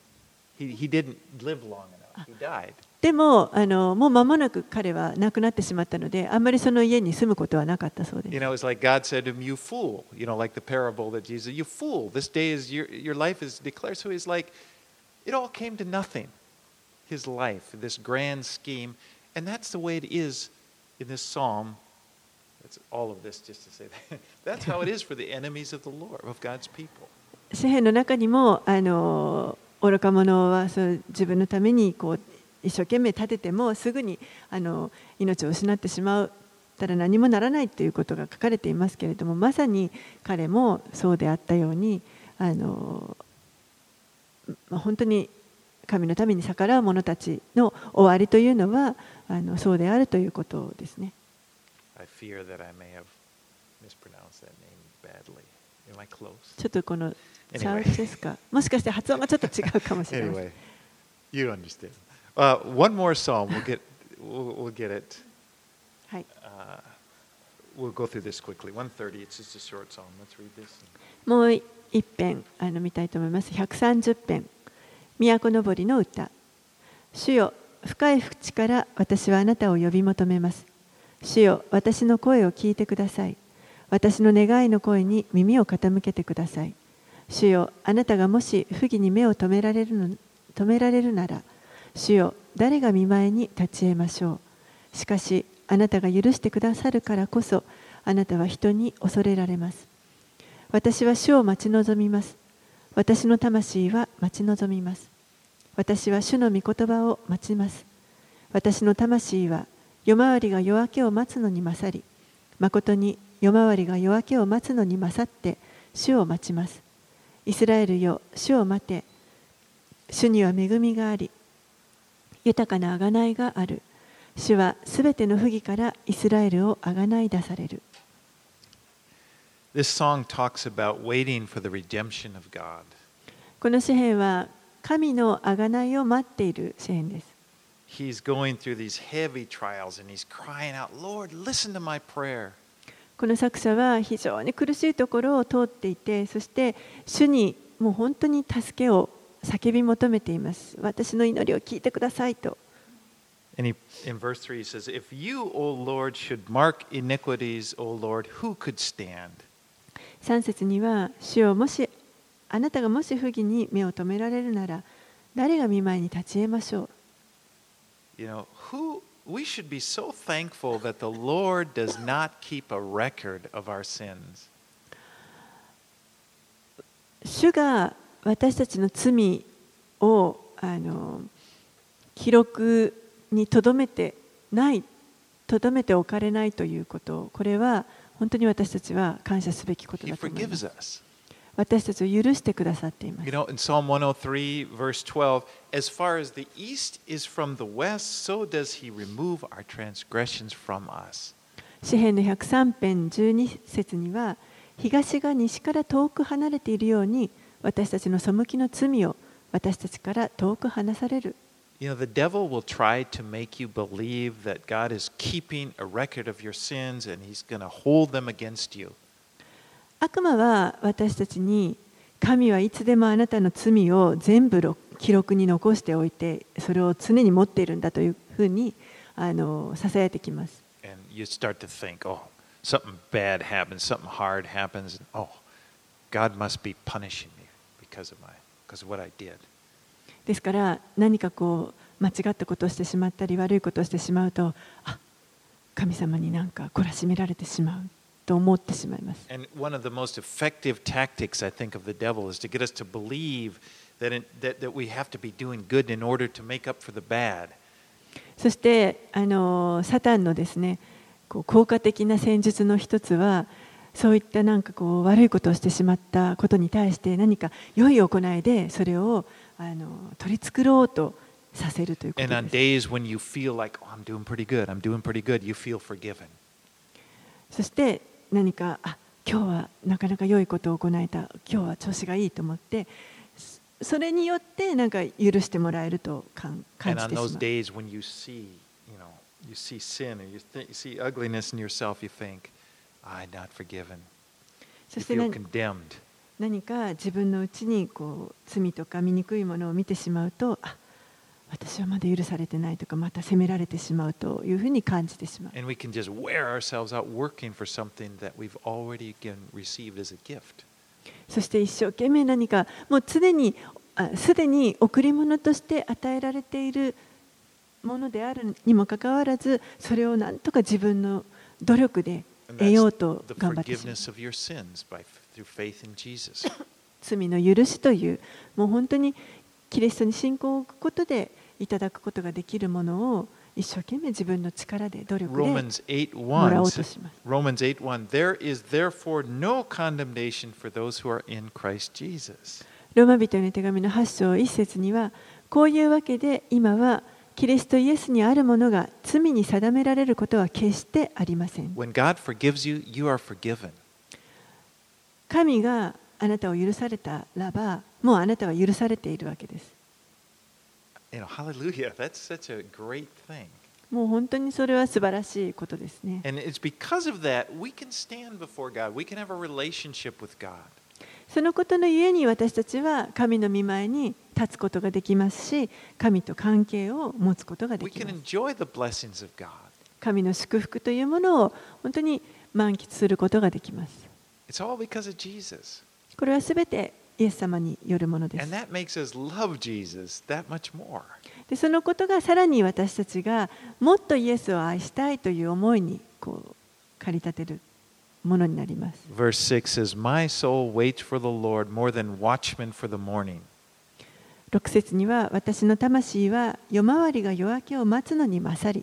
He didn't live long enough. He died. でももう間もなく彼は亡くなってしまったので、あんまりその家に住むことはなかったそうです。 It's like God said to him, "You fool." Like the parable that Jesus, "You fool. This day is your life is declared." So he's like, it all came to nothing. His life, this grand scheme, and that's the way it is in this psalm. That's all of this, just to say that. That's how it is for the enemies of the Lord, of God's people. 詩篇の中にも愚か者は自分のためにこう一生懸命立ててもすぐに命を失ってしまったら何もならないということが書かれていますけれども、まさに彼もそうであったように本当に神のために逆らう者たちの終わりというのはそうであるということですね。 I fear that I may have mispronounced that name badly. Am I close? ちょっとこのチャウチェスカ、もしかして発音がちょっと違うかもしれない。 Anyway, you understand. One more psalm. We'll get it. はい。 We'll go through this quickly. 130. It's just a short psalm. Let's read this. もう一編見たいと思います。130編。都のぼりの歌。主よ、深い淵から私はあなたを呼び求めます。主よ、私の声を聞いてください。私の願いの声に耳を傾けてください。主よ、あなたがもし不義に目を止められるなら、主よ、誰が見舞いに立ち得ましょう。しかし、あなたが許してくださるからこそ、あなたは人に恐れられます。私は主を待ち望みます。私の魂は待ち望みます。私は主の御言葉を待ちます。私の魂は夜回りが夜明けを待つのに勝り、まことに夜回りが夜明けを待つのに勝って主を待ちます。イスラエルよ、主を待て。主には恵みがあり、豊かな贖いがある。主はすべての不義からイスラエルを贖い出される。 This song talks about waiting for the redemption of God. この詩篇は神の贖いを待っている詩篇です。 He's going through these heavy trials and he's crying out, Lord, listen to my prayer. この作者は非常に苦しいところを通っていて、そして主にもう本当に助けを叫び求めています。私の祈りを聞いてくださいと。 And in verse 3 he says, If you, O Lord, should mark iniquities, O Lord, who could stand? 3節には、主よ、もしあなたがもし不義に目を留められるなら、誰が御前に立ち得ましょう。 You know, we should be so thankful that the Lord does not keep a record of our sins. 主が私たちの罪を記録にとどめておかれないということ、これは本当に私たちは感謝すべきことだと思います。私たちを許してくださっています。 You know, in Psalm 103, verse 12, as far as the east is from the west, so does he remove our transgressions from us. 詩編の103編12節には、東が西から遠く離れているように、私たちの背きの罪を私たちから遠く離される。 You know, the devil will try to make you believe that God is keeping a record of your sins and he's going to hold them against you. 悪魔は私たちに、神はいつでもあなたの罪を全部記録に残しておいて、それを常に持っているんだというふうにささやいてきます。 And you start to think, oh, something bad happens, something hard happens, and oh, God must be punishing me because of what I did. ですから何かこう間違ったことをしてしまったり悪いことをしてしまうと、神様になんか懲らしめられてしまうと思ってしまいます。 And one of the most effective tactics, I think, of the devil is to get us to believe that we have to be doing good in order to make up for the bad. そしてサタンのですね、効果的な戦術の一つは、そういったなんかこう悪いことをしてしまったことに対して何か良い行いでそれを取り繕おうとさせるということです。 And on days when you feel like, oh, I'm doing pretty good, you feel forgiven. そして何か今日はなかなか良いことを行えた、今日は調子がいいと思って、それによってなんか許してもらえると感じてしまう。 And on those days when you see sin or you see ugliness in yourself, you think, I'm not forgiven. そ You して feel condemned. 何か自分のうちに罪とか醜いものを見てしまうと、私はまだ許されてないとか、また責められてしまうというふうに感じてしまう。 And we can just wear ourselves out working for something that we've already received as a gift. そして一生懸命何かもうすでに贈り物として与えられているものであるにもかかわらず、それを何とか自分の努力で得ようと頑張ってしまう。罪の許しという、もう本当にキリストに信仰を置くことでいただくことができるものを一生懸命自分の力で努力でもらおうとします。 Romans 8:1 There is therefore no condemnation for those who are in Christ Jesus. ローマ人への手紙の8章1節には、こういうわけで今はキリストイエスにあるものが罪に定められることは決してありません。 When God forgives you, you are forgiven. 神があなたを許されたらば、もうあなたは許されているわけです。 Hallelujah. That's such a great thing. もう本当にそれは素晴らしいことですね。 And it's because of that we can stand before God. We can have a relationship with God. そのことのゆえに私たちは神の御前に立つことができますし、神と関係を持つことがで We き can ます。 enjoy the blessings of God. 神の祝福というものを本当に満喫することができます。 It's all because of Jesus. これはすべてイエス様によるものです。 And that makes us love Jesus that much more. でそのことがさらに私たちがもっとイエスを愛したいという思いに駆り立てるものになります。 Verse 6 says, My soul waits for the Lord more than watchmen for the morning. 6節には、私の魂は夜回りが夜明けを待つのに勝り。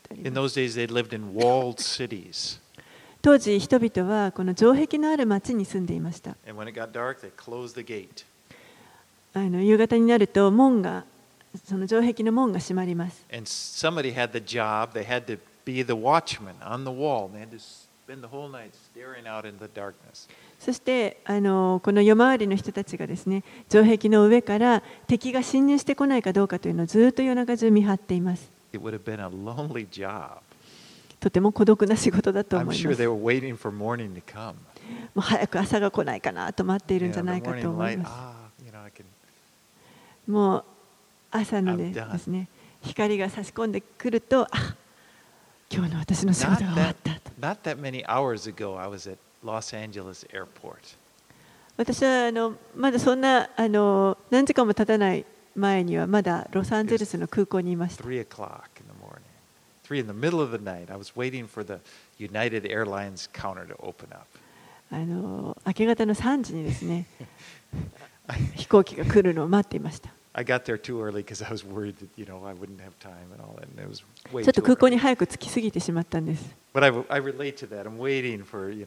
あり In ます。 those days, they lived in walled cities. 当時人々はこの城壁のある町に住んでいました。 And when it got dark, they closed the gate. 夕方になるとその城壁の門が閉まります。 And somebody had the job, they had to be the watchman on the wall. They had to spend the whole night staring out in the darkness. そしてこの夜回りの人たちがですね、城壁の上から敵が侵入してこないかどうかというのをずっと夜中中見張っています。 It would have been a lonely job. とても孤独な仕事だと I'm 思い sure ます。 they も were waiting for morning to come. う早く朝が来ないかなと待っているん You じゃ know, な the いかと morning 思い light, ます。 I can. もう朝の I'm done. ですね、光が差し込んでくると、今日の私の仕事が終わったと。 Not that many hours ago, I was at Los Angeles airport. 私はまだそんな何時間も経たない前にはまだロサンゼルスの空港にいました。 3 o'clock in the morning. 3 in the middle of the night. I was waiting for the United Airlines counter to open up. 明け方の3時にですね、飛行機が来るのを待っていました。 I got there too early because I was worried that, I wouldn't have time and all that. And it was way ちょっと too 空港に early. 早く着きすぎてしまったんです。 But I relate to that. I'm waiting for, the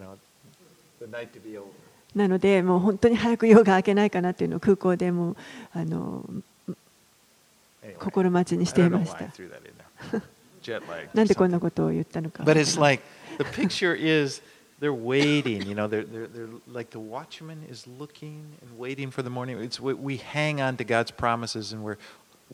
night to be over. なので、もう本当に早く夜が明けないかなというのを空港でも Anyway, 心待ちにし I てい don't know まし why た I。threw that in there. Jet lag. なんでこんなことを言ったのか。 But it's like the picture is they're waiting. They're like the watchman is looking and waiting for the morning. It's we hang on to God's promises and we're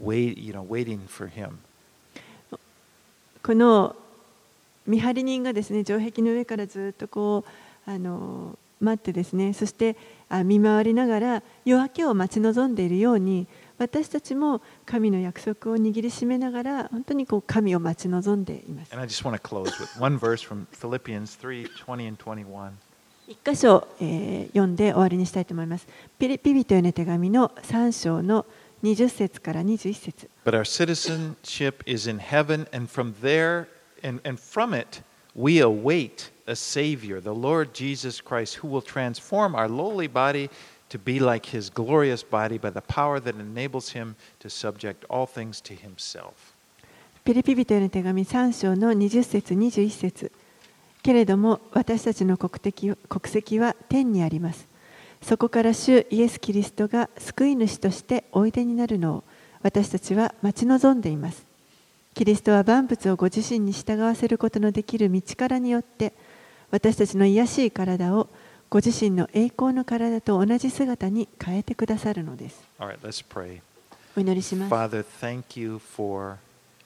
waiting for Him. この見張り人がですね、城壁の上からずっとこう待ってですね、そして見回りながら夜明けを待ち望んでいるように、私たちも神の約束を握りしめながら本当にこう神を待ち望んでいます。 And I just want to close with one verse from Philippians 3:20 and 21. 一箇所、読んで終わりにしたいと思います。ピリピ人への手紙の3章の20節から21節。 But our citizenship is in heaven, and from there and from it we await a Savior, the Lord Jesus Christ, who will transform our lowly body to be like His glorious body by the power that enables Him to subject all things to Himself. ピリピ人への手紙3章の20節21節。けれども私たちの国籍は天にあります。そこから主イエス・キリストが救い主としておいでになるのを私たちは待ち望んでいます。キリストは万物をご自身に従わせることのできる道からによって私たちの卑しい体をご自身の栄光の体と同じ姿に変えてくださるのです。 All right, let's pray. お祈りします。 Father, thank you for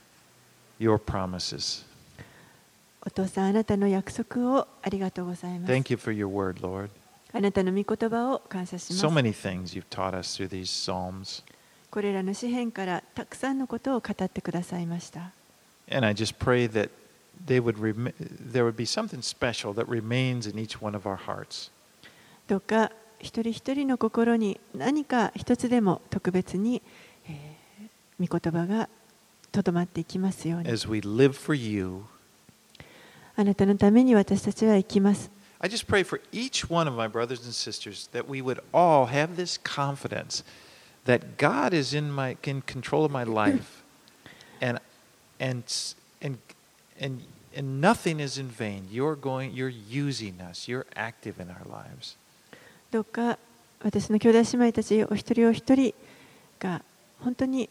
your promises. お父さん、あなたの約束をありがとうございます。 Thank you for your word, Lord. あなたの御言葉を感謝します。 So many things you've taught us through these Psalms. これらの詩篇からたくさんのことを語ってくださいました。 And I just pray that there would be something special that remains in each one of our hearts. どうか一人一人の心に何か一つでも特別に、御言葉がとどまっていきますように。 As we live for you, あなたのために私たちは生きます。 I just pray for each one of my brothers and sisters that we would all have this confidence that God is in control of my life, and nothing is in vain. You're using us. You're active in our lives. どうか私の兄弟姉妹たちお一人お一人が本当に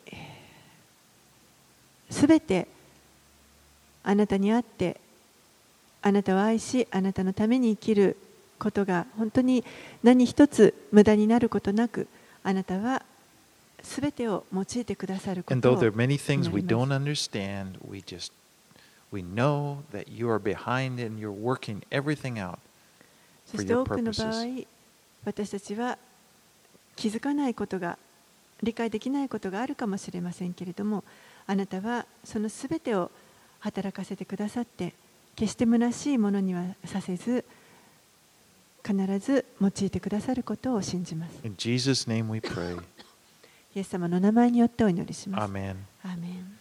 すべてあなたにあってあなたを愛しあなたのために生きることが本当に何一つ無駄になることなくあなたはすべてを用いてくださるこ And と though を there are many things 祈 we りま don't す。 understand, we know that you are behind it and you're working everything out そ for して your 多くの場合 purposes. 私たちは気づかないことが理解できないことがあるかもしれませんけれどもあなたはそのすべてを働かせてくださって決して虚しいものにはさせず必ず用いてくださることを信じます。 In Jesus' name we pray. イエス様の名前によってお祈りします。 Amen. アーメン。